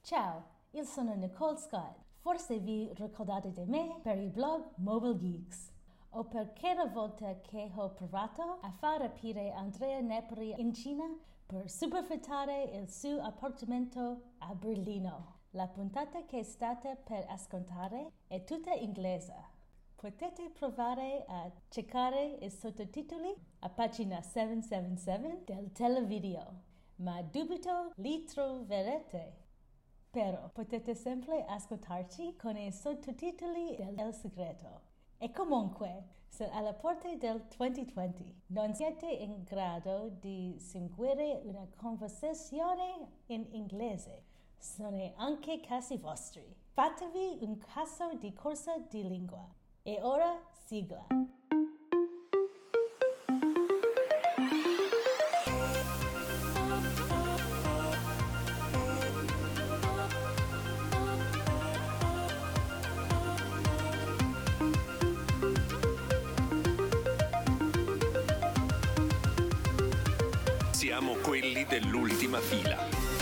Ciao, io sono Nicole Scott. Forse vi ricordate di me per il blog Mobile Geeks. O perché la volta che ho provato a far rapire Andrea Nepri in Cina per superfittare il suo appartamento a Berlino. La puntata che state per ascoltare è tutta inglese. Potete provare a cercare i sottotitoli a pagina 777 del televideo, ma dubito li troverete. Però potete sempre ascoltarci con i sottotitoli del segreto. E comunque, se alla porta del 2020 non siete in grado di seguire una conversazione in inglese, sono anche casi vostri. Fatevi un caso di corsa di lingua. E ora sigla. Siamo quelli dell'ultima fila.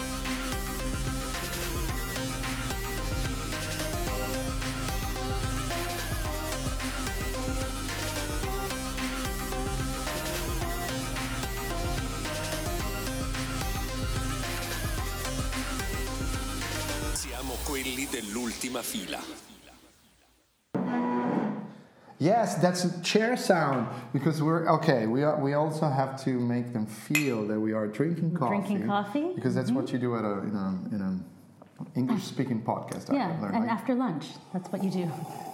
Siamo quelli dell'ultima fila. Yes, that's a chair sound because we're okay. We also have to make them feel that we are drinking coffee. Drinking coffee because that's what you do at in an English-speaking podcast. Yeah, and after lunch, that's what you do.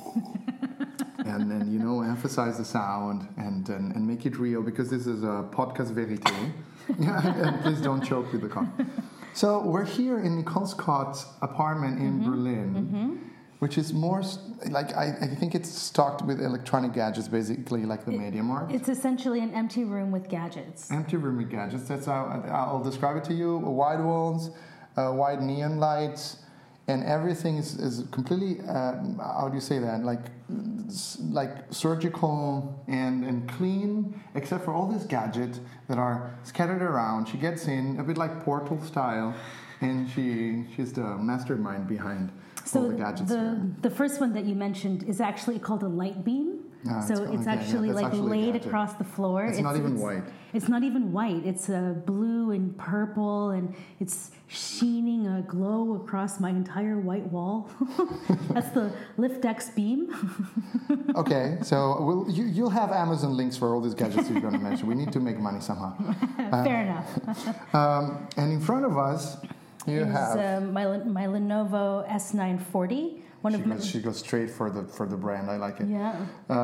and emphasize the sound and make it real because this is a podcast vérité. And please don't choke with the coffee. So we're here in Nicole Scott's apartment in Berlin. Mm-hmm. Which is more like, I think it's stocked with electronic gadgets, basically like the MediaMarkt. It's essentially an empty room with gadgets. Empty room with gadgets, that's how I'll describe it to you. White walls, white neon lights, and everything is completely, how do you say that, like surgical and clean, except for all these gadgets that are scattered around. She gets in, a bit like Portal style, and she's the mastermind behind all the gadgets. The first one that you mentioned is actually called a light beam. It's actually laid across the floor. It's not even white. It's not even white. It's blue and purple, and it's sheening a glow across my entire white wall. That's the LiftX beam. Okay, so you'll have Amazon links for all these gadgets you're going to mention. We need to make money somehow. Fair enough. And in front of us, you have my Lenovo S940. She goes straight for the brand. I like it. Yeah.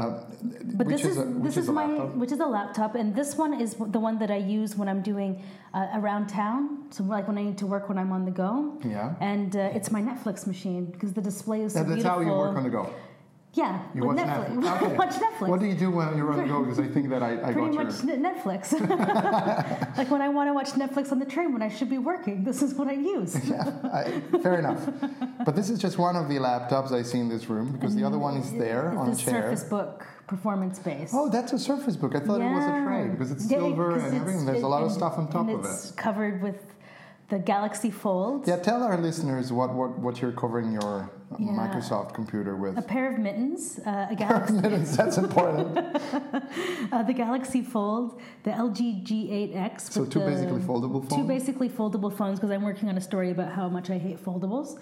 But which is a laptop, and this one is the one that I use when I'm doing around town. So like when I need to work when I'm on the go. Yeah. And it's my Netflix machine because the display is so beautiful. That's how you work on the go. Yeah, you watch Netflix. Okay. Watch Netflix. What do you do when you're on the go? Because I think that I pretty got much Netflix. Like when I want to watch Netflix on the train when I should be working, this is what I use. Fair enough. But this is just one of the laptops I see in this room because the other one is there on a chair. Surface Book performance base. Oh, that's a Surface Book. I thought it was a tray because it's silver and everything. There's a lot of stuff on top of it. It's covered with the Galaxy Fold. Yeah, tell our listeners what you're covering your Microsoft computer with. A pair of mittens, a Galaxy. Pair of mittens, that's important. The Galaxy Fold, the LG G8X. So two basically foldable phones? Two basically foldable phones because I'm working on a story about how much I hate foldables.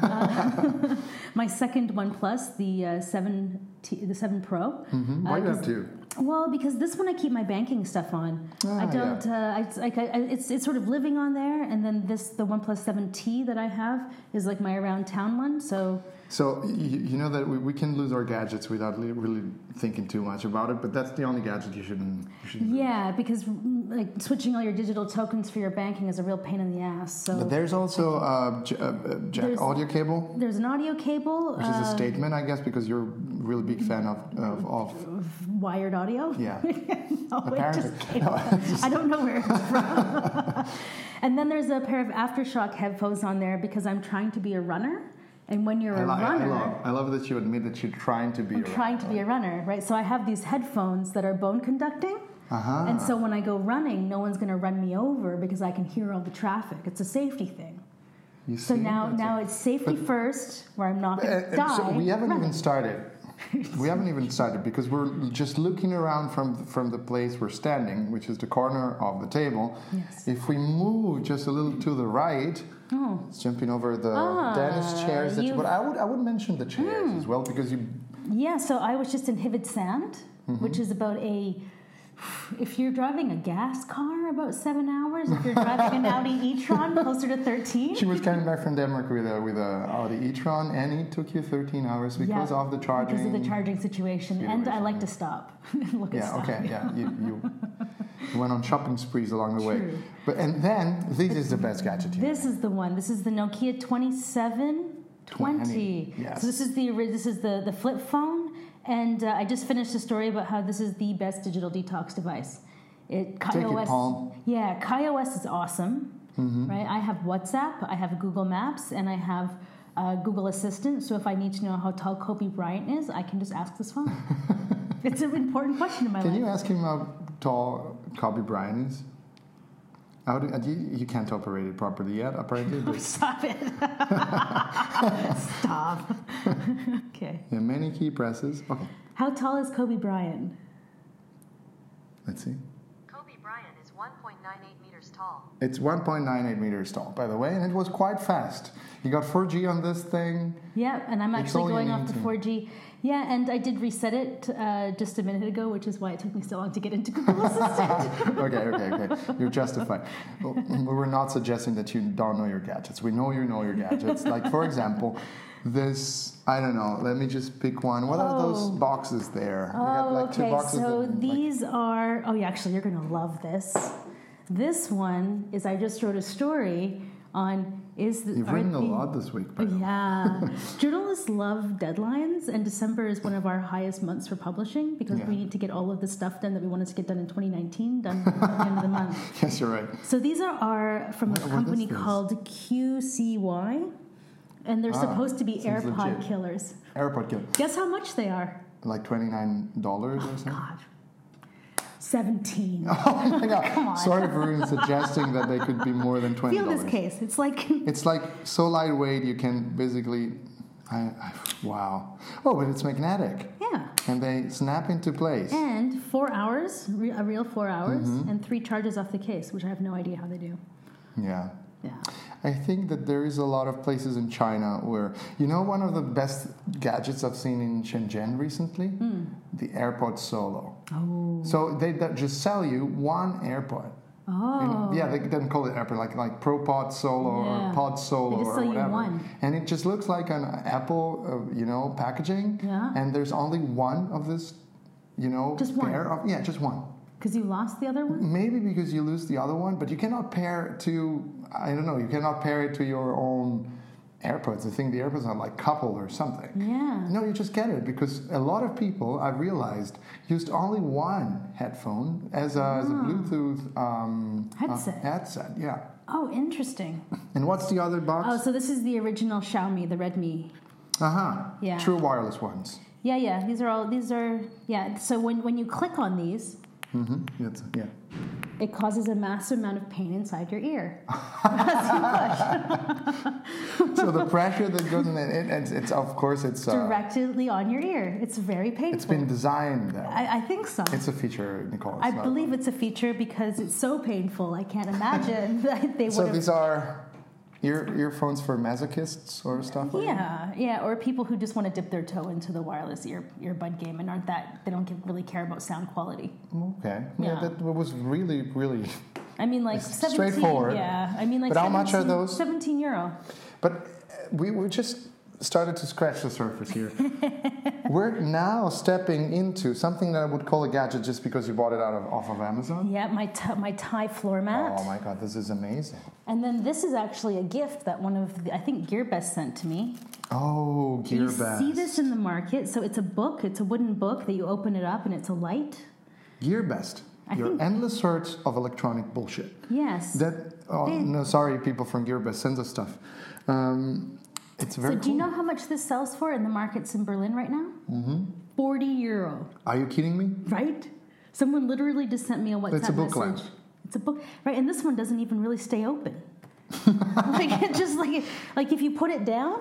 My second OnePlus, the 7 Pro. Mm-hmm. Why do you have two? Well, because this one I keep my banking stuff on. I don't. It's sort of living on there, and then the OnePlus 7T that I have is like my around town one. So you know that we can lose our gadgets without really thinking too much about it, but that's the only gadget you shouldn't. Yeah, because like switching all your digital tokens for your banking is a real pain in the ass. So but there's also audio cable. There's an audio cable, which is a statement, I guess, because you're a really big fan of wired audio. Yeah. No, I don't know where it's from. And then there's a pair of AfterShock headphones on there because I'm trying to be a runner. And when you're a runner... I love that you admit that you're trying to be a runner. I'm trying to be a runner, right? So I have these headphones that are bone conducting. Uh-huh. And so when I go running, no one's going to run me over because I can hear all the traffic. It's a safety thing. You So see? now it's safety first, where I'm not going to die. So we haven't Right. even started. We haven't even started because we're just looking around from the place we're standing, which is the corner of the table. Yes. If we move just a little to the right, it's jumping over the dentist chairs. But I would mention the chairs as well because you. Yeah, so I was just in Hivid Sand, which is about if you're driving a gas car, about 7 hours. If you're driving an Audi e-tron, closer to 13. She was coming back from Denmark with a Audi e-tron, and it took you 13 hours because of the charging. Because of the charging situation. And I like to stop and look at stuff. Okay, yeah. You went on shopping sprees along the way. True. And then, this is the best gadget here. This is the one. This is the Nokia 2720. Yes. So this is the flip phone. And I just finished a story about how this is the best digital detox device. KaiOS, Paul. Yeah, KaiOS is awesome. Right? I have WhatsApp, I have Google Maps, and I have Google Assistant. So if I need to know how tall Kobe Bryant is, I can just ask this phone. It's an important question in my life. Can you ask him how tall Kobe Bryant is? You can't operate it properly yet, apparently. But Stop it. Stop. Okay. yeah, many key presses. Okay, How tall is Kobe Bryant? let's see. Kobe Bryant is 1.98 meters tall. It's 1.98 meters tall, by the way, and it was quite fast. You got 4G on this thing. Yeah, and I'm It's actually all you going off need to to. 4G. Yeah, and I did reset it just a minute ago, which is why it took me so long to get into Google Assistant. Okay. You're justified. Well, we were not suggesting that you don't know your gadgets. We know you know your gadgets. Like, for example, this, I don't know, let me just pick one. What are those boxes there? We got like two Okay, boxes. so that, these are, actually, you're going to love this. This one is, I just wrote a story on, You've written a lot this week, by the way. Yeah. Journalists love deadlines, and December is one of our highest months for publishing because we need to get all of the stuff done that we wanted to get done in 2019 done at the end of the month. Yes, you're right. So these are from a company is this? called QCY, and they're supposed to be sounds AirPod legit. killers. AirPod killer. Guess how much they are? Like $29 or something? God. 17. Oh my God. Come on. Sorry for even suggesting that they could be more than $20. Feel this case. It's like It's like so lightweight you can basically, wow. Oh, but it's magnetic. yeah. And they snap into place. And 4 hours, a real 4 hours, Mm-hmm. and 3 charges off the case, which I have no idea how they do. Yeah. Yeah. I think that there is a lot of places in China where, one of the best gadgets I've seen in Shenzhen recently? The AirPod Solo. Oh. So they just sell you one AirPod. Oh. Yeah, they don't call it AirPod, like ProPod Solo Yeah. or Pod Solo They just or sell you whatever. one. And it just looks like an Apple, packaging. Yeah. And there's only one of this, Just one. pair of, just one. Because you lost the other one? Maybe because you lose the other one, but you cannot pair it to, you cannot pair it to your own AirPods. I think the AirPods are like coupled or something. Yeah. No, you just get it because a lot of people, I've realized, used only one headphone as a Bluetooth headset. Yeah. Oh, interesting. And what's the other box? Oh, so this is the original Xiaomi, the Redmi. Yeah. True wireless ones. Yeah. These are, So when you click on these, Yeah. it causes a massive amount of pain inside your ear. So the pressure that goes in it's of course it's Directly on your ear. It's very painful. it's been designed that way. I think so. It's a feature, Nicole. I believe it's a feature because it's so painful. I can't imagine that they would So have. these are earphones for masochists or stuff like that? Yeah, or people who just want to dip their toe into the wireless earbud game and they don't really care about sound quality. Okay. Yeah. That was really, really... I mean, like It's 17. straightforward. Yeah, I mean, like. But how much are those? €17. But we just started to scratch the surface here. We're now stepping into something that I would call a gadget just because you bought it off of Amazon. Yeah, my Thai floor mat. Oh my God, this is amazing. And then this is actually a gift that I think GearBest sent to me. Oh, You GearBest. see this in the market. So it's a book. It's a wooden book that you open it up and it's a light. GearBest. Your think- endless search of electronic bullshit. Yes. No, sorry, people from GearBest, send us stuff. It's very So cool. do you know how much this sells for in the markets in Berlin right now? €40. Are you kidding me? Right? Someone literally just sent me a WhatsApp It's a book message. lamp. It's a book, right? And this one doesn't even really stay open. Like it just like if you put it down.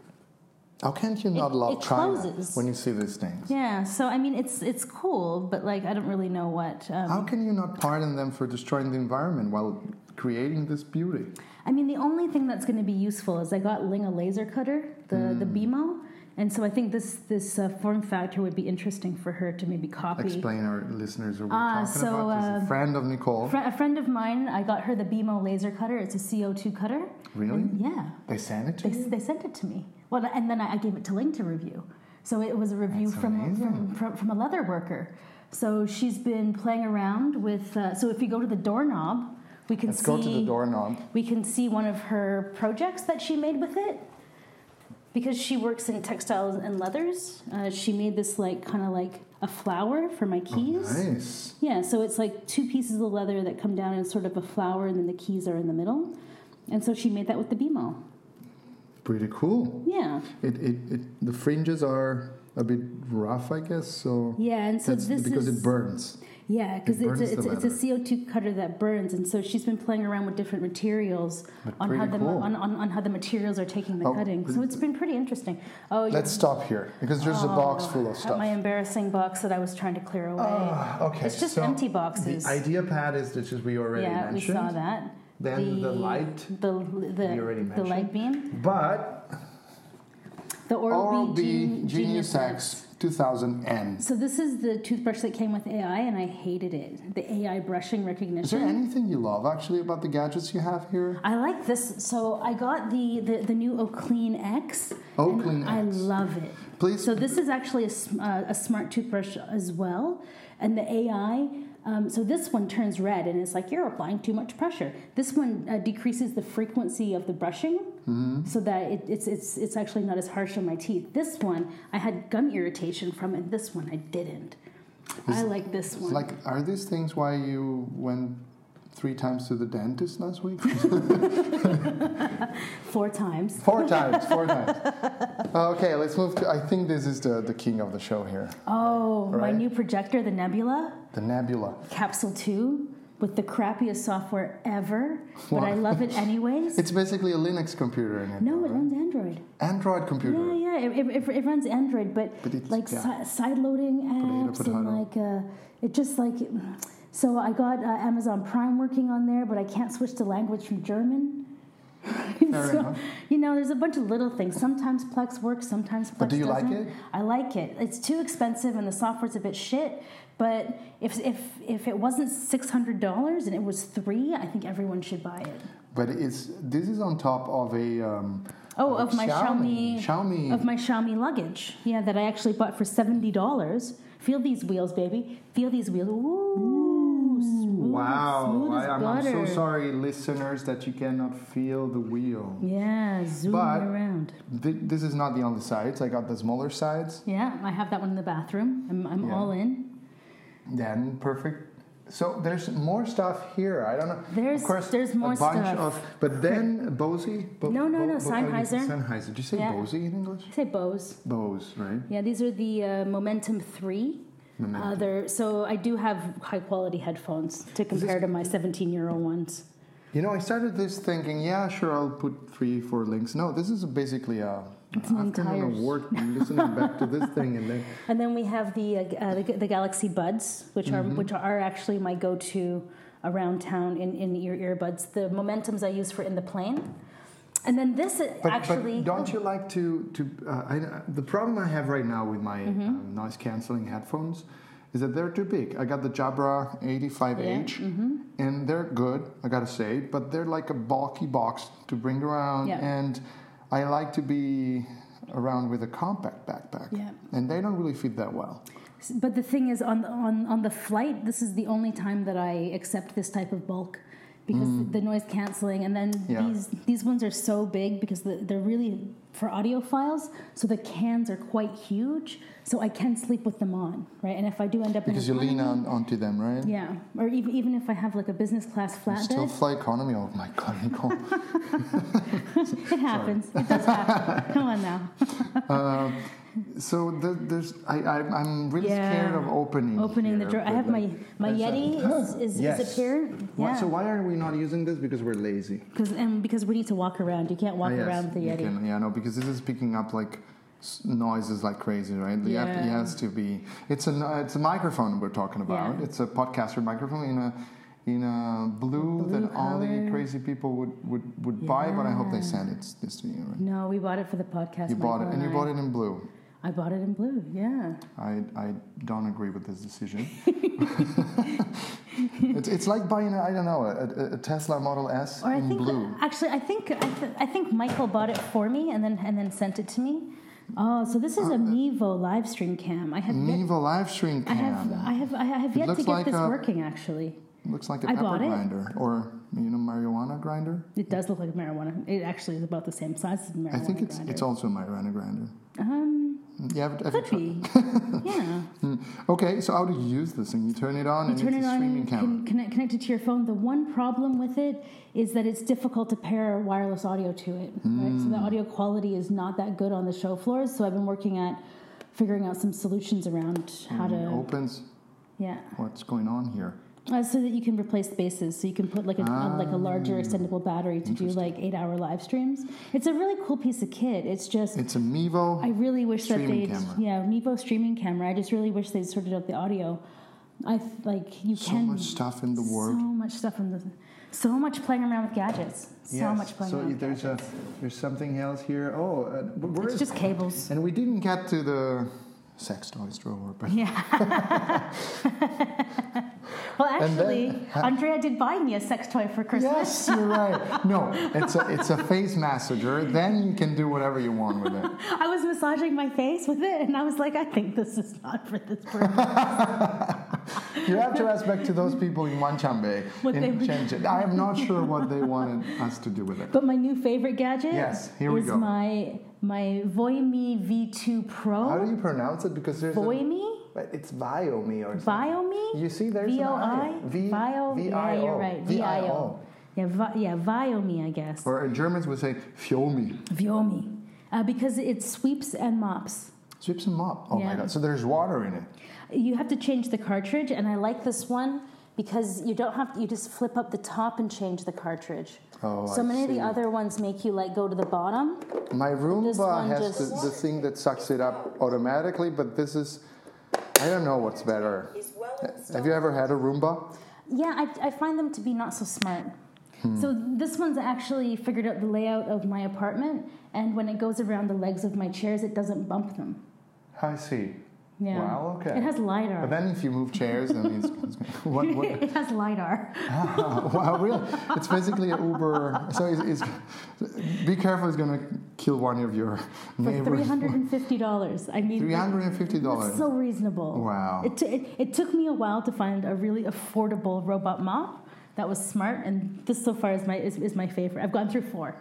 How can't you not love it China closes. when you see these things? Yeah, so I mean, it's cool, but like I don't really know what. How can you not pardon them for destroying the environment while creating this beauty? I mean, the only thing that's going to be useful is I got Ling a laser cutter, the BMO, and so I think this form factor would be interesting for her to maybe copy. Explain our listeners what we're talking about. She's a friend of Nicole. A friend of mine, I got her the BMO laser cutter. It's a CO2 cutter. Really? And yeah. They sent it to you? They sent it to me. Well, and then I gave it to Ling to review. So it was a review from a leather worker. So she's been playing around with. So if you go to the doorknob, we can Let's go to the doorknob. We can see one of her projects that she made with it. Because she works in textiles and leathers, she made this kind of like a flower for my keys. Oh, nice. Yeah, so it's like 2 pieces of leather that come down in sort of a flower, and then the keys are in the middle. And so she made that with the BMO. Pretty cool. Yeah. The fringes are a bit rough, I guess. So yeah, and so this because it burns. Yeah, because it's burns a CO2 cutter that burns, and so she's been playing around with different materials on how the materials are taking the cutting. So it's been pretty interesting. Let's stop here because there's a box full of stuff. My embarrassing box that I was trying to clear away. Okay. It's just empty boxes. The idea pad is that we already mentioned. Yeah, we saw that. Then the light. We already mentioned. The light beam. But the Oral-B Genius X 2000N. So this is the toothbrush that came with AI, and I hated it. The AI brushing recognition. Is there anything you love actually about the gadgets you have here? I like this. So I got the new Oclean X. Oclean X. I love it. Please. So this is actually a smart toothbrush as well, and the AI. So this one turns red, and it's like you're applying too much pressure. This one decreases the frequency of the brushing, so that it's actually not as harsh on my teeth. This one I had gum irritation from, and this one I didn't. I like this one. Like, are these things why you went 3 times to the dentist last week? 4 times. 4 times. Okay, let's move to. I think this is the king of the show here. Oh, right? My new projector, the Nebula. The Nebula. Capsule 2 with the crappiest software ever, but I love it anyways. It's basically a Linux computer in it. No, it runs Android. Android computer. Yeah, it runs Android, but it's, like side-loading apps and like it just like. So I got Amazon Prime working on there, but I can't switch the language from German. Fair enough. There's a bunch of little things. Sometimes Plex works, sometimes Plex doesn't. But do you like it? I like it. It's too expensive and the software's a bit shit. But if it wasn't $600 and it was $3, I think everyone should buy it. But this is on top of a of my Xiaomi of my Xiaomi luggage. Yeah, that I actually bought for $70. Feel these wheels, baby. Feel these wheels. Ooh, smooth as I'm butter. so sorry, listeners, that you cannot feel the wheel. Yeah, zooming around. This is not the only sides. I got the smaller sides. Yeah, I have that one in the bathroom. I'm all in. Then perfect. So there's more stuff here. I don't know. There's more stuff. But then Bose. No, Sennheiser. Sennheiser. Did you say Bose in English? I say Bose. Bose, right? Yeah, these are the Momentum 3. So I do have high quality headphones to compare to my 17-year-old ones. I started this thinking, yeah, sure, I'll put 3-4 links. No, this is basically it's an entire work listening back to this thing, and then we have the Galaxy Buds, which are actually my go-to around town in ear earbuds. The Momentums I use for in the plane. And then this actually. But don't you like to the problem I have right now with my noise cancelling headphones is that they're too big. I got the Jabra 85H, and they're good, I gotta say, but they're like a bulky box to bring around, and I like to be around with a compact backpack, and they don't really fit that well. But the thing is, on the flight, this is the only time that I accept this type of bulk. Because the noise canceling, and then these ones are so big because they're really for audiophiles, so the cans are quite huge, so I can sleep with them on, right? And if I do end up because you lean onto them, right? Yeah, or even if I have like a business class flatbed. Still fly economy? Oh my God, Nicole. It happens. It does happen. Come on now. So I'm really scared of opening the here, drawer. I but have my Yeti is Yes. here. Yeah. So why are we not using this? Because we're lazy. Because we need to walk around. You can't walk around with the Yeti. Because this is picking up like noises like crazy, right? It has to be. It's a microphone we're talking about. Yeah. It's a podcaster microphone in a blue that only color. crazy people would buy. But I hope they send this to you. Right? No, we bought it for the podcast. You bought it, Michael and you I. bought it in blue. I bought it in blue. Yeah. I don't agree with this decision. It's like buying a Tesla Model S Or in blue. Actually, I think Michael bought it for me and then sent it to me. Oh, so this is a Mevo live stream cam. I have Mevo live stream cam. I have yet to looks get like this working. Actually, looks like a I pepper bought it. grinder or marijuana grinder. It does look like a marijuana. It actually is about the same size as a marijuana I think grinder. it's also a marijuana grinder. Yeah, Could be. Yeah. Okay, so how do you use this thing? You turn it on You and turn it's it a on streaming and camera. can connect it to your phone. The one problem with it is that it's difficult to pair wireless audio to it. Right? So the audio quality is not that good on the show floors. So I've been working at figuring out some solutions around how It to. opens. Yeah. What's going on here? So that you can replace bases. So you can put like a larger extendable battery to do like 8-hour live streams. It's a really cool piece of kit. It's just. It's a Mevo. I really wish that streaming they'd. camera. Yeah, Mevo streaming camera. I just really wish they'd sorted out the audio. So much stuff in the world. So much stuff in the. So much playing around with gadgets. So much playing around with gadgets. There's something else here. Oh, where It's is just cables. And we didn't get to the sex toys drawer, but Yeah. Well, actually, then- Andrea did buy me a sex toy for Christmas. yes, you're right. No, it's a face massager. Then you can do whatever you want with it. I was massaging my face with it, and I was like, I think this is not for this purpose. You have to respect to those people in Wanchanbe What they- in Shenzhen. I am not sure what they wanted us to do with it. But my new favorite gadget Yes, here we is go. my Voimi V2 Pro. How do you pronounce it? Because there's Voimi? it's Viomi or something. Viomi? You see, there's VOI? an I. Vio? Yeah, you're right. V-I-O. Yeah, Viomi, I guess. Or Germans would say Fiomi. Viomi. Because it sweeps and mops. Sweeps them up. Oh my Yeah. god. So there's water in it. You have to change the cartridge, and I like this one because you don't have to, you just flip up the top and change the cartridge. Oh, So I many of see. the other ones make you like go to the bottom. My This Roomba one has just- the thing that sucks it up automatically, but this is, I don't know what's better. Have you ever had a Roomba? Yeah, I find them to be not so smart. So this one's actually figured out the layout of my apartment, and when it goes around the legs of my chairs, it doesn't bump them. I see. Yeah. Wow, okay. It has LiDAR. But then if you move chairs, then what? It has LiDAR. Wow, really? It's basically an Uber. So be careful, it's going to kill one of your For neighbors. $350. I mean, $350. It's so reasonable. Wow. It took me a while to find a really affordable robot mop that was smart, and this so far is my favorite. I've gone through 4.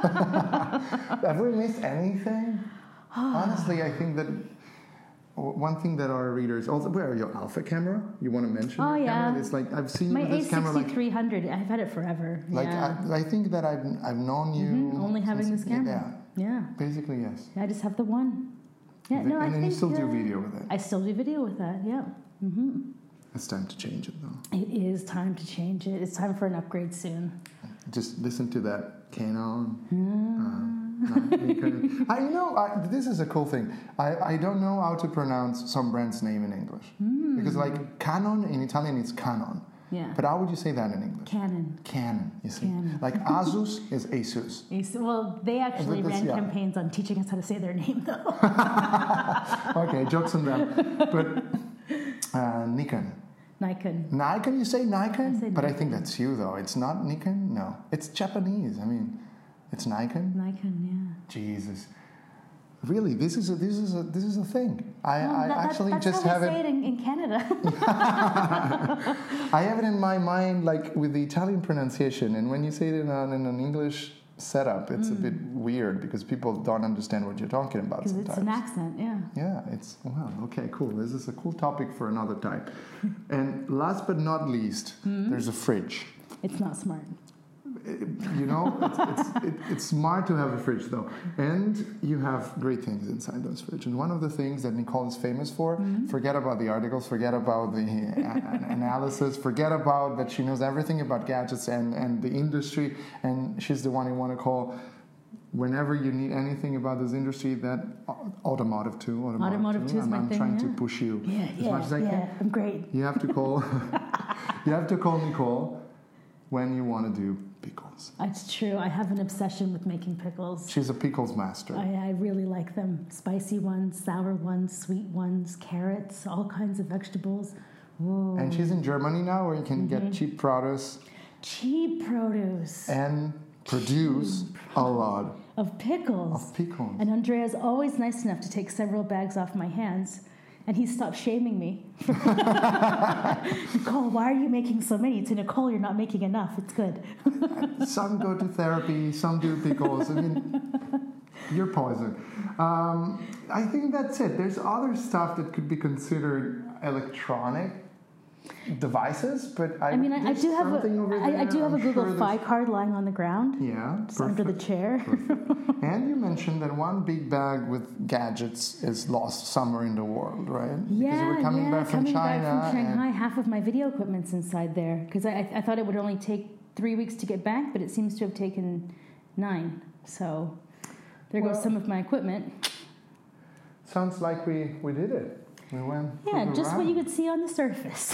Have we missed anything? Honestly, I think that one thing that our readers also, where are your Alpha camera? You want to mention? Oh, your yeah. camera? It's like I've seen My you with this camera. Like, A6300, I've had it forever. like Yeah. I think that I've known you Only having since- this camera. Yeah. Basically, yes. I just have the one. Yeah, no, I and then think you still do video with it. I still do video with that. Yeah. It's time to change it though. It is time to change it. It's time for an upgrade soon. Just listen to that Canon. This is a cool thing. I don't know how to pronounce some brand's name in English. Because like Canon in Italian is Canon. Yeah. But how would you say that in English? Canon. Canon, you see. Canon. Like Asus is Asus. Well, they actually This- ran yeah. campaigns on teaching us how to say their name, though. Okay, jokes on them. But Nikon. Nikon. Nikon, you say Nikon? I say But I Nikon. think that's you though. It's not Nikon? No. It's Japanese. I mean, it's Nikon. Nikon, Jesus. Really, this is a thing. I yeah. actually that's just how have we it. say it in Canada. I have it in my mind, like with the Italian pronunciation, and when you say it in an English setup, it's a bit weird because people don't understand what you're talking about Because sometimes. it's an accent, yeah. Yeah, it's well, okay, cool. This is a cool topic for another time. And last but not least, there's a fridge. It's not smart. It's smart to have a fridge though, and you have great things inside those fridges. And one of the things that Nicole is famous for, forget about the articles, forget about the analysis, forget about that she knows everything about gadgets and the industry, and she's the one you want to call whenever you need anything about this industry. That automotive too. Automotive too is my thing. I'm trying to push you as much as I can. I'm great. You have to call. You have to call Nicole when you want to do pickles. It's true. I have an obsession with making pickles. She's a pickles master. I really like them. Spicy ones, sour ones, sweet ones, carrots, all kinds of vegetables. Ooh. And she's in Germany now, where you can get cheap produce. Cheap produce. And produce a lot of pickles. And Andrea's always nice enough to take several bags off my hands. And he stopped shaming me. Nicole, why are you making so many? To Nicole, you're not making enough. It's good. Some go to therapy, some do pickles. I mean, you're poison. I think that's it. There's other stuff that could be considered electronic devices, but I do have a Google Fi card lying on the ground. Yeah, under the chair. And you mentioned that one big bag with gadgets is lost somewhere in the world, right? Yeah, because you were coming back from China. Back from Shanghai. Half of my video equipment's inside there because I thought it would only take 3 weeks to get back, but it seems to have taken 9. So there goes some of my equipment. Sounds like we did it. We went. Yeah, just what you could see on the surface.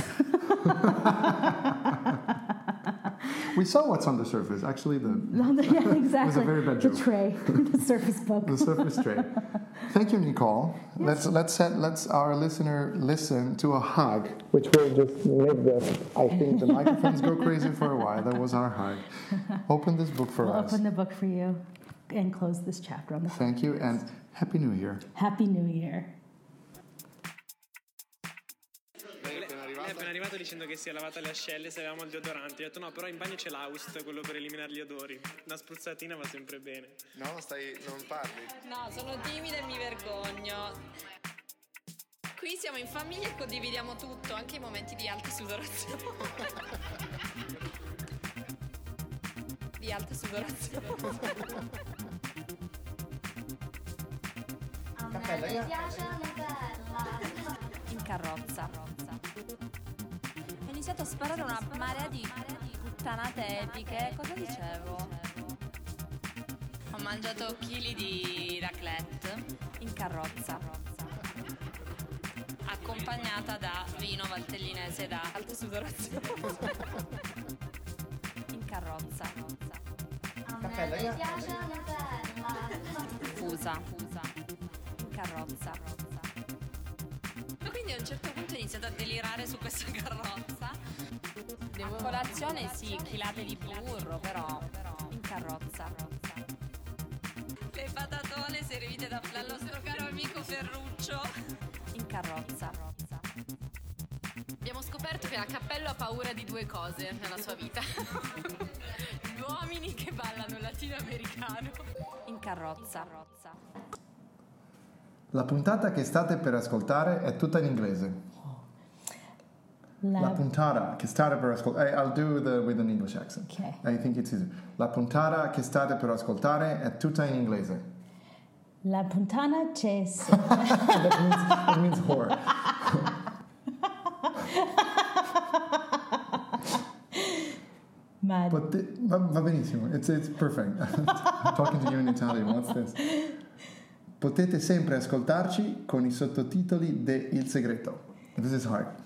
We saw what's on the surface. Actually, exactly. It was a very bad joke. The tray, the surface book. The surface tray. Thank you, Nicole. Yes. Let's our listener listen to a hug, which will just make I think the microphones go crazy for a while. That was our hug. Open this book for us. Open the book for you, and close this chapter on the. Thank you, and Happy New Year. Happy New Year. È appena arrivato dicendo che si è lavata le ascelle se avevamo il deodorante. Ho detto no, però in bagno c'è l'Aust, quello per eliminare gli odori. Una spruzzatina va sempre bene. No, non parli. No, sono timida e mi vergogno. Qui siamo in famiglia e condividiamo tutto, anche i momenti di alta sudorazione. Di alta sudorazione. A me mi piace la bella. In carrozza. Ho iniziato a sparare una marea di puttanate epiche. Cosa dicevo? Ho mangiato chili di raclette in carrozza, accompagnata da vino valtellinese da alta sudorazione. In carrozza. A me mi piace la bella. Fusa. In carrozza. Quindi a un certo punto ho iniziato a delirare su questa carrozza. A colazione sì, chilate di burro, però in carrozza. Le patatone servite dal nostro caro amico Ferruccio. In carrozza. Abbiamo scoperto che la Cappello ha paura di 2 cose nella sua vita. Gli uomini che ballano latinoamericano. In carrozza. La puntata che state per ascoltare è tutta in inglese. La puntata che state per ascoltare. I'll do with an English accent. Okay. I think it's easier. La puntata che state per ascoltare è tutta in inglese. La puntana c'è. That means whore. Mad. But va benissimo. It's perfect. I'm talking to you in Italian. What's this? Potete sempre ascoltarci con i sottotitoli de Il Segreto. This is hard.